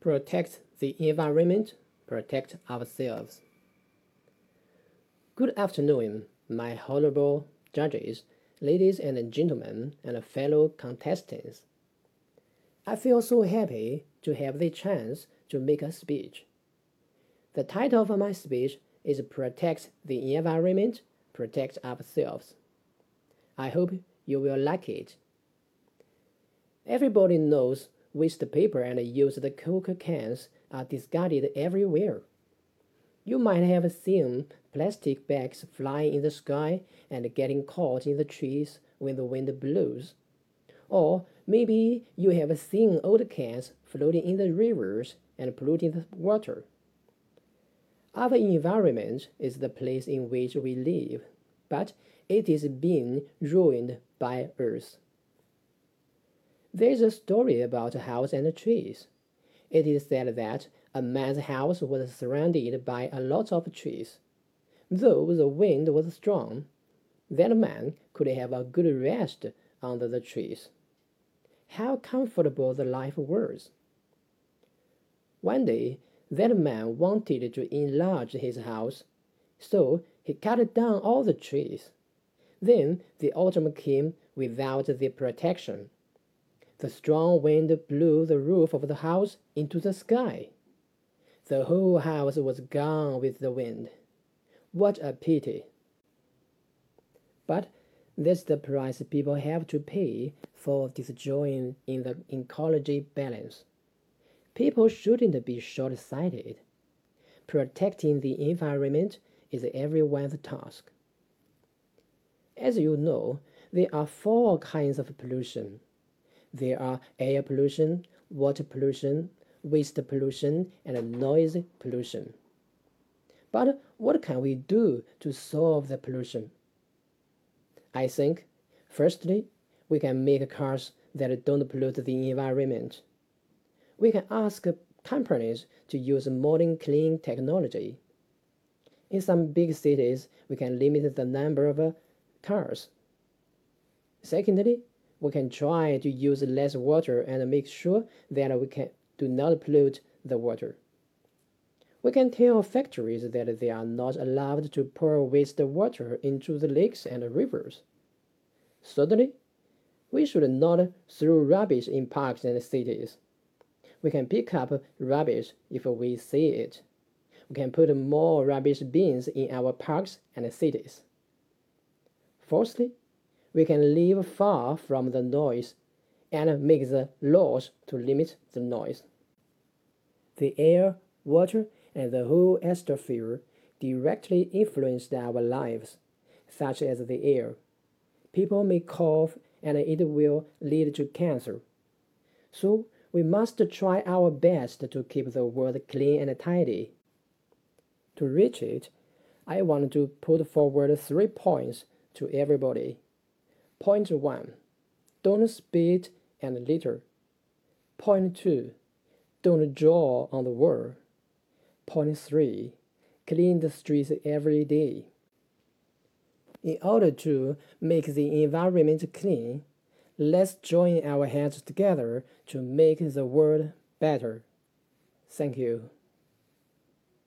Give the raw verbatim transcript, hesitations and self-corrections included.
Protect the environment, protect ourselves. Good afternoon, my honorable judges, ladies and gentlemen, and fellow contestants. I feel so happy to have the chance to make a speech. The title of my speech is Protect the Environment, Protect Ourselves. I hope you will like it. Everybody knows waste paper and used Coke cans are discarded everywhere. You might have seen plastic bags flying in the sky and getting caught in the trees when the wind blows. Or maybe you have seen old cans floating in the rivers and polluting the water. Our environment is the place in which we live, but it is being ruined by Earth. There is a story about a house and trees. It is said that a man's house was surrounded by a lot of trees. Though the wind was strong, that man could have a good rest under the trees. How comfortable the life was! One day, that man wanted to enlarge his house, so he cut down all the trees. Then the autumn came without the protection. The strong wind blew the roof of the house into the sky. The whole house was gone with the wind. What a pity! But that's the price people have to pay for destroying in the ecology balance. People shouldn't be short-sighted. Protecting the environment is everyone's task. As you know, there are four kinds of pollution. There are air pollution, water pollution, waste pollution, and noise pollution. But what can we do to solve the pollution? I think, firstly, we can make cars that don't pollute the environment. We can ask companies to use modern clean technology. In some big cities, we can limit the number of cars. Secondly, we can try to use less water and make sure that we can do not pollute the water. We can tell factories that they are not allowed to pour wastewater into the lakes and rivers. Thirdly, we should not throw rubbish in parks and cities. We can pick up rubbish if we see it. We can put more rubbish bins in our parks and cities. Fourthly, we can live far from the noise and make the laws to limit the noise. The air, water, and the whole atmosphere directly influence our lives, such as the air. People may cough and it will lead to cancer. So we must try our best to keep the world clean and tidy. To reach it, I want to put forward three points to everybody. Point one, don't spit and litter. Point two, don't draw on the wall. Point three, clean the streets every day. In order to make the environment clean, let's join our hands together to make the world better. Thank you.